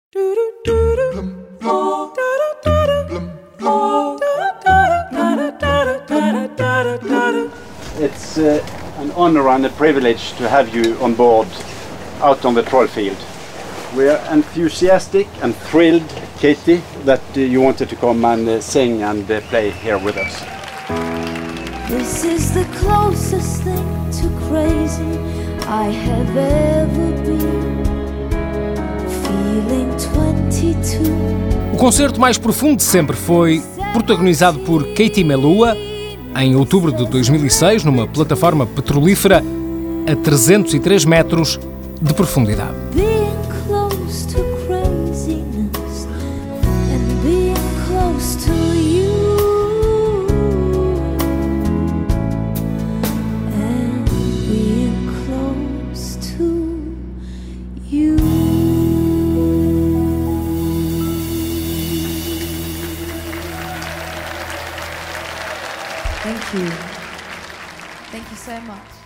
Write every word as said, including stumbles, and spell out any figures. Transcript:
It's uh, an honor and a privilege to have you on board out on the Troll field. We are enthusiastic and thrilled, Katie, that uh, you wanted to come and uh, sing and uh, play here with us. This is the closest thing to crazy I have ever been. Feeling twenty-two. O concerto mais profundo de sempre foi protagonizado por Katie Melua em outubro de dois mil e seis, numa plataforma petrolífera a trezentos e três metros de profundidade. Being close to craziness and being close to you and being close to you. Thank you. Thank you so much.